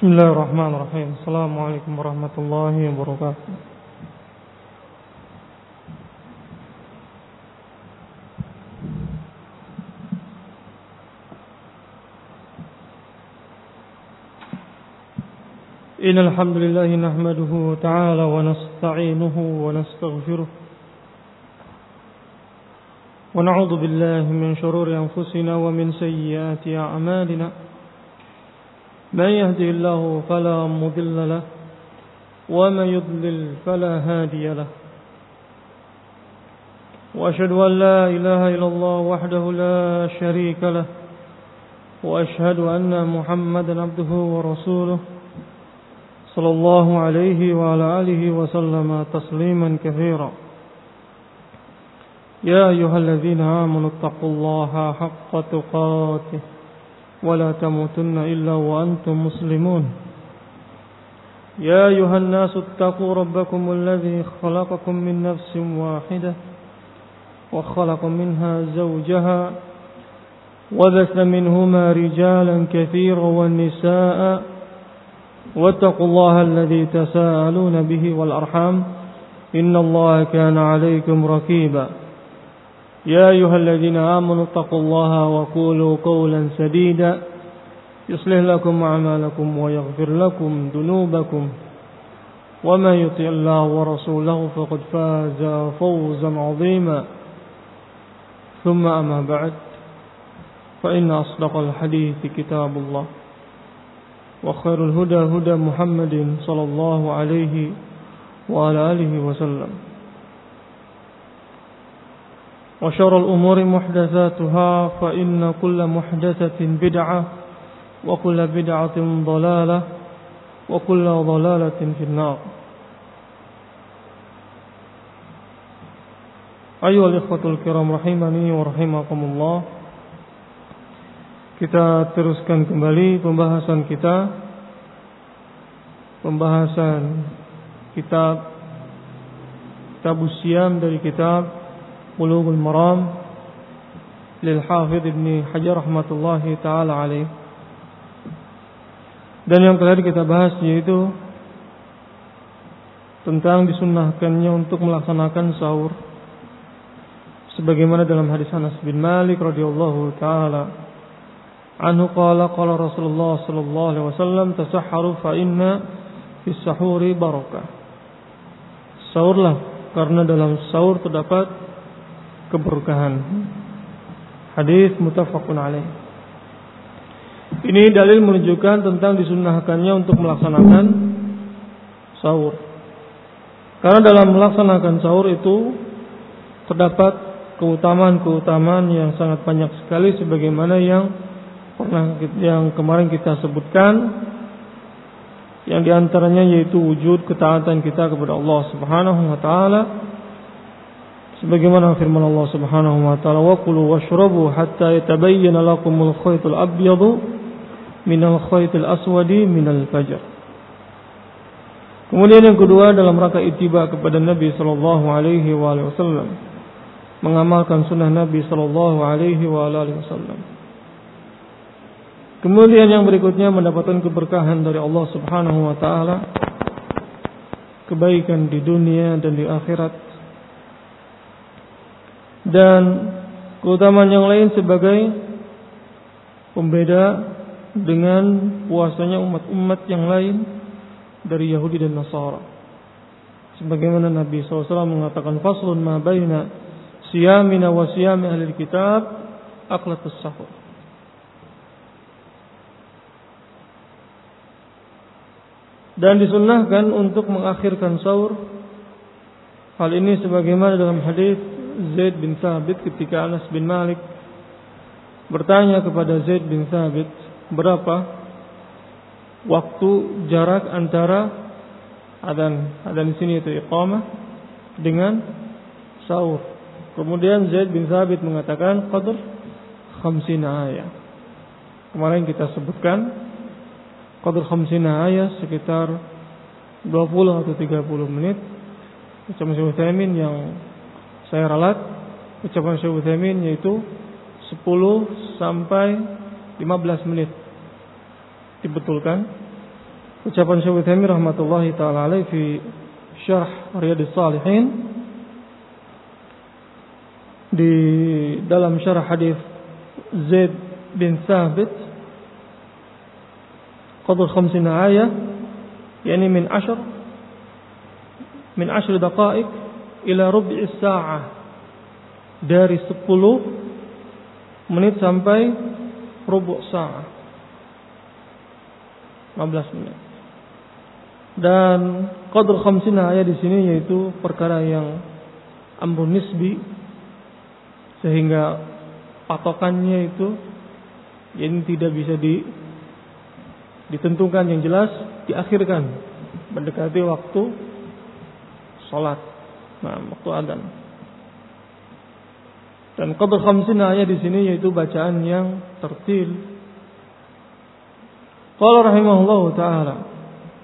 Bismillahirrahmanirrahim. Assalamualaikum warahmatullahi wabarakatuh. Innal hamdalillah nahmaduhu ta'ala wa nasta'inuhu wa nastaghfiruh. Wa na'udzu billahi min shururi anfusina wa min sayyiati a'malina. من يهده الله فلا مضل له ومن يضلل فلا هادي له وأشهد أن لا إله إلا الله وحده لا شريك له وأشهد أن محمدا عبده ورسوله صلى الله عليه وعلى آله وسلم تسليما كثيرا. يا أيها الذين آمنوا اتقوا الله حق تقاته ولا تموتن إلا وأنتم مسلمون. يا أيها الناس اتقوا ربكم الذي خلقكم من نفس واحدة وخلق منها زوجها وبث منهما رجالا كثيرا والنساء واتقوا الله الذي تساءلون به والأرحام إن الله كان عليكم رقيبا. يا أيها الذين آمنوا اتقوا الله وقولوا قولا سديدا يصلح لكم أعمالكم ويغفر لكم ذنوبكم ومن يطع الله ورسوله فقد فاز فوزا عظيما. ثم أما بعد فإن أصدق الحديث كتاب الله وخير الهدى هدى محمد صلى الله عليه وعلى آله وسلم وشر الأمور محدثاتها فإن كل محدثة بدعة وكل بدعة ضلالة وكل ضلالة في النار. أيها الإخوة الكرام rahimani wa rahimakumullah. Kita teruskan kembali pembahasan kitab Siyam dari kitab Bulughul Maram lil Hafidz Ibnu Hajar rahmatullahi taala alaih. Dan yang terakhir kita bahas yaitu tentang disunnahkannya untuk melaksanakan sahur sebagaimana dalam hadis Anas bin Malik radhiyallahu taala anhu qala qala Rasulullah sallallahu alaihi wasallam tasahharu fa inna fis sahuri barakah. Sahurlah karena dalam sahur terdapat keberkahan. Hadis muttafaqun alaih. Ini dalil menunjukkan tentang disunnahkannya untuk melaksanakan sahur. Karena dalam melaksanakan sahur itu terdapat keutamaan-keutamaan yang sangat banyak sekali sebagaimana yang kemarin kita sebutkan, yang diantaranya yaitu wujud ketaatan kita kepada Allah Subhanahu wa taala. Sebagaimana firman Allah Subhanahu wa taala, wa kulu washrabu hatta yatabayyana lakumul khaytul abyadu minal khaytil aswadi minal fajr. Kemudian yang kedua, dalam rangka ittiba kepada Nabi sallallahu alaihi wasallam, mengamalkan sunnah Nabi sallallahu alaihi wasallam. Kemudian yang berikutnya, mendapatkan keberkahan dari Allah Subhanahu wa taala, kebaikan di dunia dan di akhirat. Dan keutamaan yang lain sebagai pembeda dengan puasanya umat-umat yang lain dari Yahudi dan Nasara. Sebagaimana Nabi SAW mengatakan, faslun ma baina siyamina wa siyami ahli kitab aqlatus sahur. Dan disunnahkan untuk mengakhirkan sahur. Hal ini sebagaimana dalam hadis Zaid bin Thabit ketika Anas bin Malik bertanya kepada Zaid bin Thabit, berapa waktu jarak antara adzan di sini itu iqamah dengan sahur. Kemudian Zaid bin Thabit mengatakan qadr 50 ayat. Kemarin kita sebutkan qadr 50 ayat sekitar 20 atau 30 menit. Ucapan Syekh Utsaimin yang saya ralat, ucapan Syekh Utsaimin yaitu 10 sampai 15 menit. Dibetulkan ucapan Syekh Utsaimin rahmatullahi taala alaihi fi Syarh Riyadhus Shalihin, di dalam syarah hadis Zaid bin Thabit, qadr 50 ayat, yakni min 10 daqaik ila rub'i sa'ah, dari 10 menit sampai rubu' sa'ah, 15 menit. Dan qadr 50 ayat di sini yaitu perkara yang amrun nisbi, sehingga patokannya itu jadi tidak bisa ditentukan yang jelas, diakhirkan mendekati waktu salat, waktu adzan. Dan qadr 50 ayat di sini yaitu bacaan yang tertil. Qala rahimahullahu taala,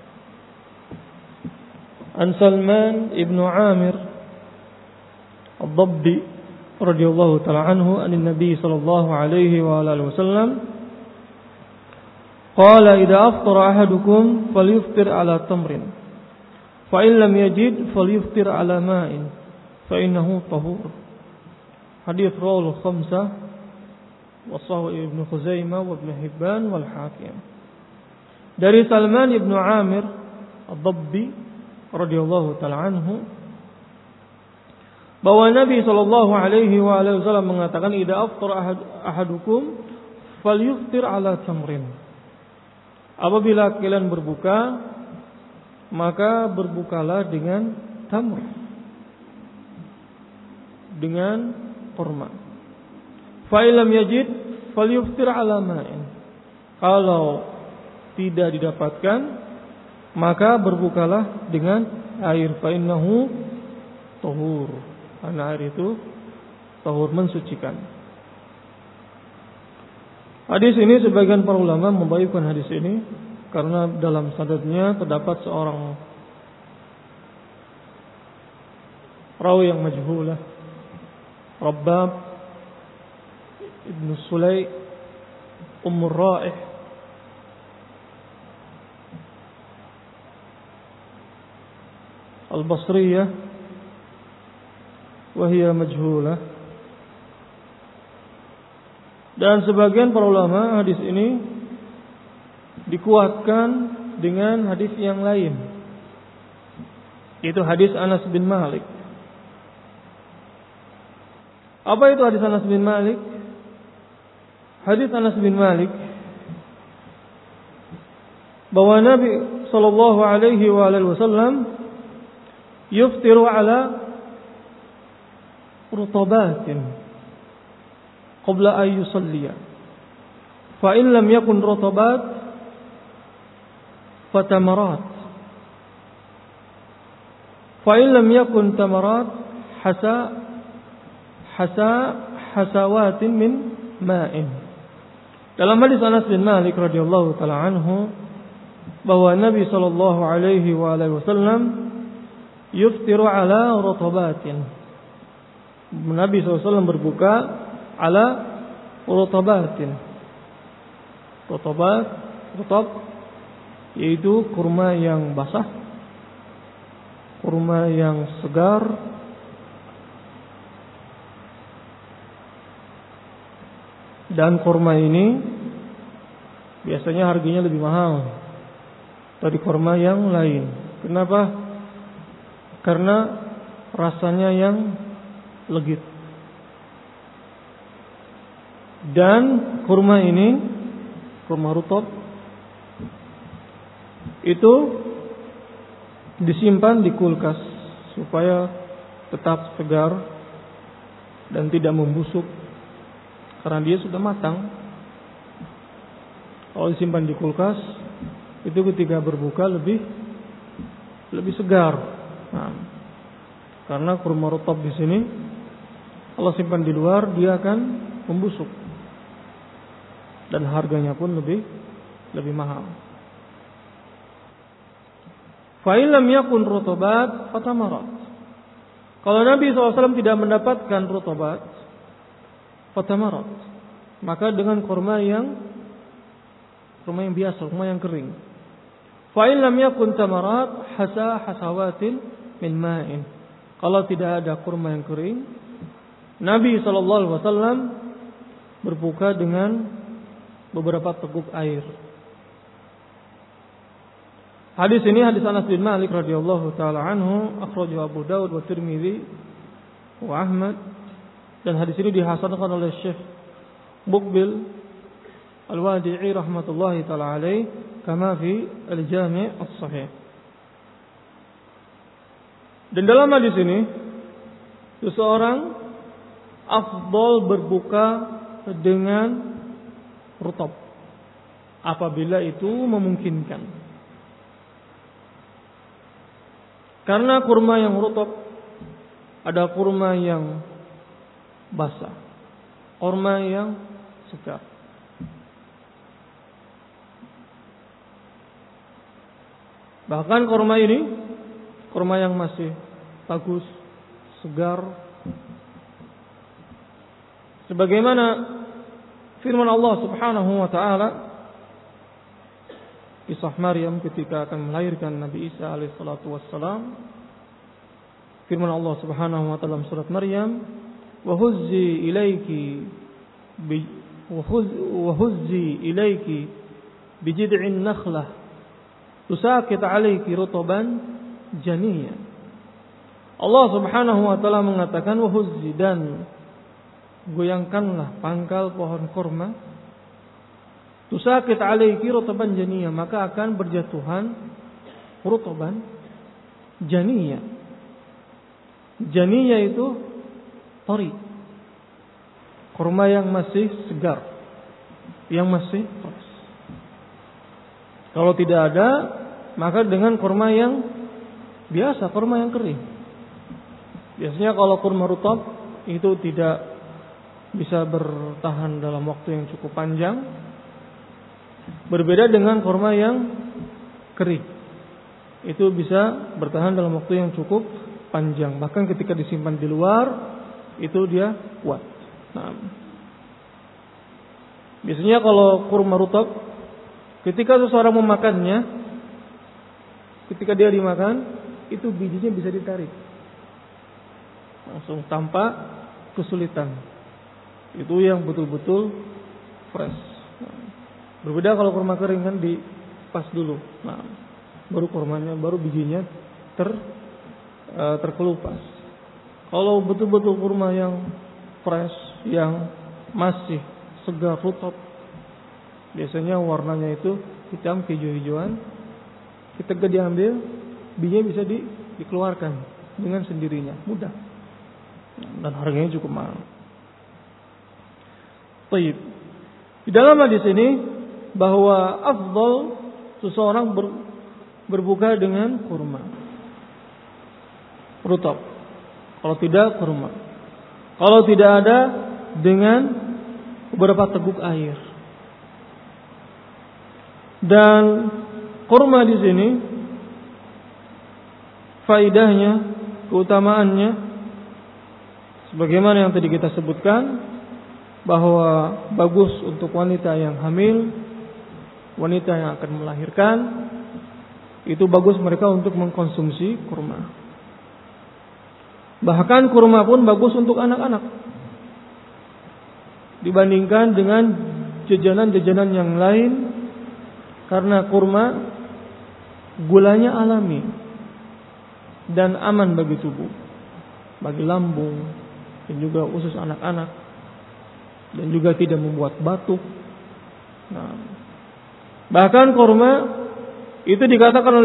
an Salman ibn Amir Ad-Dabbi radhiyallahu ta'ala anhu an Nabi sallallahu alaihi wa alihi wasallam qala idza aftara ahadukum falyuftir ala tamrin fa in lam yajid falyuftir ala ma'in fa innahu tahur. Hadis rawal khamsah wa sahih Ibnu Khuzaimah wa Ibnu Hibban wal Hakim. Dari Salman ibn Amir Ad-Dabbi radhiyallahu ta'ala anhu, bahwa Nabi sallallahu alaihi wa alihi wasallam mengatakan idza aftara ahadukum falyuftir ala tamrin. Apabila kalian berbuka, maka berbukalah dengan tamr, dengan kurma. Fa illam yajid falyuftir ala ma'in. Kalau tidak didapatkan, maka berbukalah dengan air, fa innahu tahur, karena air itu tahur, mensucikan. Hadis ini sebagian para ulama membaikkan hadis ini karena dalam sanadnya terdapat seorang rawi yang majhulah, Rabbab ibn Sulay Ummur Ra'ih Al-Basriyah wahia majhulah. Dan sebagian para ulama hadis ini dikuatkan dengan hadis yang lain, yaitu hadis Anas bin Malik. Apa itu hadis Anas bin Malik? Hadis Anas bin Malik bahwa Nabi sallallahu alaihi wasallam yuftiru ala rutabatin qabla an yusalliya, fa in lam yakun rutabat fatamarat, fa in lam yakun tamarat hasawatin min ma'in. Dalam hadis Anas bin Malik radhiyallahu taala anhu bahwa Nabi sallallahu alaihi wasallam yuftiru ala rutabatin. Nabi SAW berbuka ala rutabatin. Rutab yaitu kurma yang basah, kurma yang segar, dan kurma ini biasanya harganya lebih mahal dari kurma yang lain. Kenapa? Karena rasanya yang legit. Dan kurma ini, kurma rutab, itu disimpan di kulkas supaya tetap segar dan tidak membusuk karena dia sudah matang. Kalau disimpan di kulkas, itu ketika berbuka lebih segar. Nah, karena kurma rutab di sini kalau simpan di luar dia akan membusuk dan harganya pun lebih mahal. Fa in lam yakun rutabat fatamarat. Kalau Nabi SAW tidak mendapatkan rutabat, fatamarat, maka dengan kurma yang biasa, kurma yang kering. Fa in lam yakun tamarat hasawatin min ma'in. Kalau tidak ada kurma yang kering, Nabi SAW berbuka dengan beberapa teguk air. Hadis ini hadis Anas bin Malik radhiyallahu taala anhu, akhrajahu Abu Daud wa Tirmidzi wa Ahmad, dan hadis ini dihasankan oleh Syekh Muqbil Al-Wadi'i rahmatullahi taala alaih kama fi Al-Jami' As-Sahih. Dan dalam hadis ini seseorang afdal berbuka dengan rutab apabila itu memungkinkan. Karena kurma yang rutab ada kurma yang basah, kurma yang segar. Bahkan kurma ini, kurma yang masih bagus, segar, sebagaimana firman Allah Subhanahu wa taala kisah Maryam ketika akan melahirkan Nabi Isa alaihi salatu wassalam. Firman Allah Subhanahu wa taala dalam surat Maryam, wa huzzi ilayki bi jid'in nakhlah tusaqit 'alayki rutban janiyya. Allah Subhanahu wa taala mengatakan wa huzzi, dan goyangkanlah pangkal pohon kurma, tusaqit 'alayki rutban janiyya, maka akan berjatuhan rutban janiyya. Janiyya itu tori, kurma yang masih segar, yang masih fresh. Kalau tidak ada, maka dengan kurma yang biasa, kurma yang kering. Biasanya kalau kurma rutab itu tidak bisa bertahan dalam waktu yang cukup panjang. Berbeda dengan kurma yang kering, itu bisa bertahan dalam waktu yang cukup panjang. Bahkan ketika disimpan di luar, itu dia kuat. Nah, biasanya kalau kurma rutab, ketika seseorang memakannya, ketika dia dimakan, itu bijinya bisa ditarik langsung tanpa kesulitan. Itu yang betul-betul fresh. Nah, berbeda kalau kurma kering kan dipas dulu. Nah, baru kurmanya, baru bijinya terkelupas. Kalau betul-betul kurma yang fresh, yang masih segar rutab, biasanya warnanya itu hitam kehijau-hijauan. Ketika diambil, bijinya bisa dikeluarkan dengan sendirinya, mudah. Dan harganya cukup mahal. Baik. Di dalam hadis ini bahwa afdal seseorang berbuka dengan kurma rutab. Kalau tidak kurma. Kalau tidak ada, dengan beberapa teguk air. Dan kurma di sini faidahnya, keutamaannya sebagaimana yang tadi kita sebutkan, bahwa bagus untuk wanita yang hamil, wanita yang akan melahirkan, itu bagus mereka untuk mengkonsumsi kurma. Bahkan kurma pun bagus untuk anak-anak dibandingkan dengan jajanan-jajanan yang lain, karena kurma gulanya alami dan aman bagi tubuh, bagi lambung, dan juga usus anak-anak, dan juga tidak membuat batuk. Nah, bahkan kurma itu dikatakan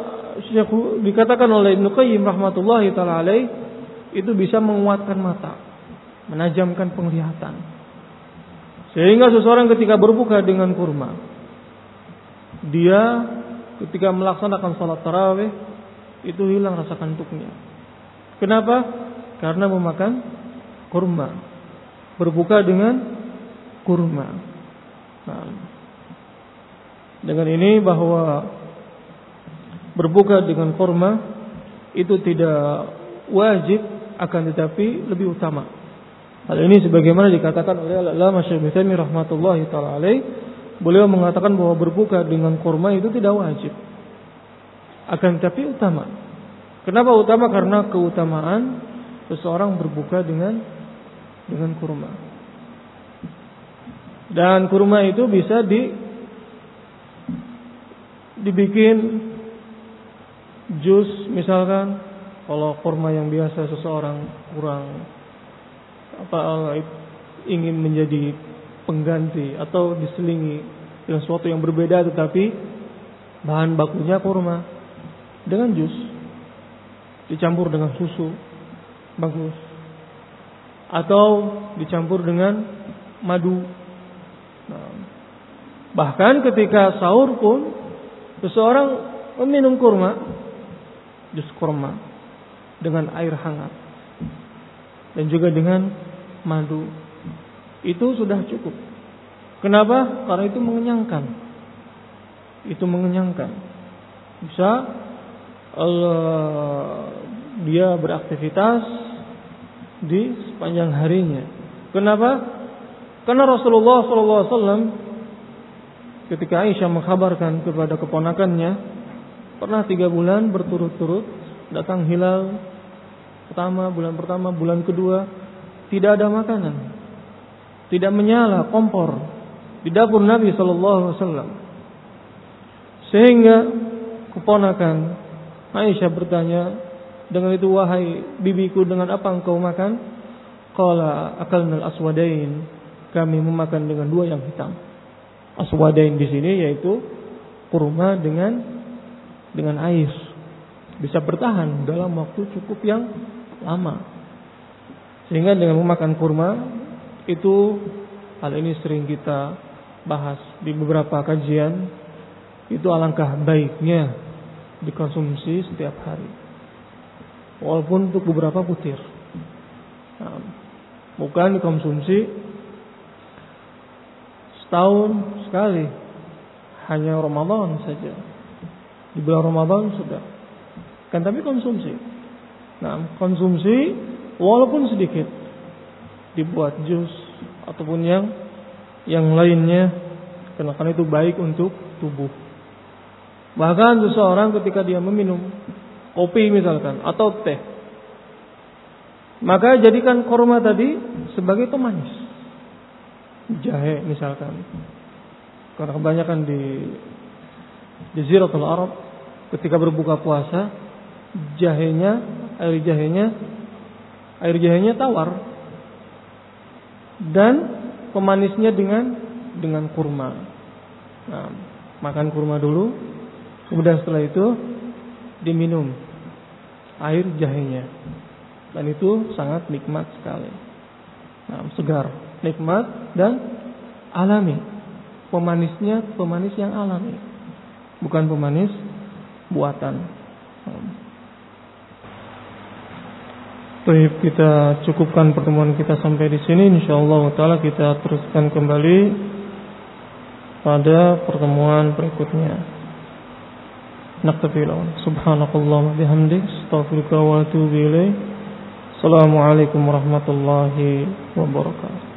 oleh Ibnu Qayyim rahmatullahi taala alaih, itu bisa menguatkan mata, menajamkan penglihatan. Sehingga seseorang ketika berbuka dengan kurma, dia ketika melaksanakan salat tarawih itu hilang rasa kantuknya. Kenapa? Karena memakan kurma, berbuka dengan kurma. Nah, dengan ini bahwa berbuka dengan kurma itu tidak wajib, akan tetapi lebih utama. Hal ini sebagaimana dikatakan oleh Al-Allamah Syekh Ibnu Taimiyah rahmatullahi taala alaih. Beliau mengatakan bahwa berbuka dengan kurma itu tidak wajib, Akan tapi utama. Kenapa utama? Karena keutamaan seseorang berbuka dengan kurma. Dan kurma itu bisa dibikin jus misalkan. Kalau kurma yang biasa seseorang kurang ingin menjadi pengganti atau diselingi dengan sesuatu yang berbeda, tetapi bahan bakunya kurma, dengan jus dicampur dengan susu bagus, atau dicampur dengan madu. Nah, bahkan ketika sahur pun seseorang meminum kurma, jus kurma dengan air hangat dan juga dengan madu, itu sudah cukup. Kenapa? Karena itu mengenyangkan. Itu mengenyangkan. Bisa dia beraktivitas di sepanjang harinya. Kenapa? Karena Rasulullah SAW ketika Aisyah mengkhabarkan kepada keponakannya, pernah 3 bulan berturut-turut datang hilal pertama, bulan kedua, tidak ada makanan, tidak menyala kompor di dapur Nabi SAW. Sehingga keponakan Aisyah bertanya, dengan itu wahai bibiku, dengan apa engkau makan? Qala akalnal aswadain, kami memakan dengan 2 yang hitam. Aswadain di sini yaitu kurma dengan air, bisa bertahan dalam waktu cukup yang lama. Sehingga dengan memakan kurma itu, hal ini sering kita bahas di beberapa kajian, itu alangkah baiknya dikonsumsi setiap hari, walaupun untuk beberapa butir. Nah, bukan dikonsumsi setahun sekali, hanya Ramadan saja, di bulan Ramadan sudah. Kan tapi konsumsi. Nah, konsumsi walaupun sedikit, dibuat jus ataupun yang lainnya, karena itu baik untuk tubuh. Bahkan seseorang ketika dia meminum kopi misalkan atau teh, maka jadikan kurma tadi sebagai pemanis. Jahe misalkan. Karena kebanyakan di Jaziratul Arab ketika berbuka puasa, air jahenya tawar, dan pemanisnya dengan kurma. Nah, makan kurma dulu, kemudian setelah itu diminum air jahenya, dan itu sangat nikmat sekali. Nah, segar, nikmat dan alami. Pemanisnya pemanis yang alami, bukan pemanis buatan. Baik, kita cukupkan pertemuan kita sampai di sini. Insyaallah taala kita teruskan kembali pada pertemuan berikutnya. Naktafi lawan. Subhanakallahumma bihamdik, astaghfiruka wa atubu ilaik. Assalamualaikum warahmatullahi wabarakatuh.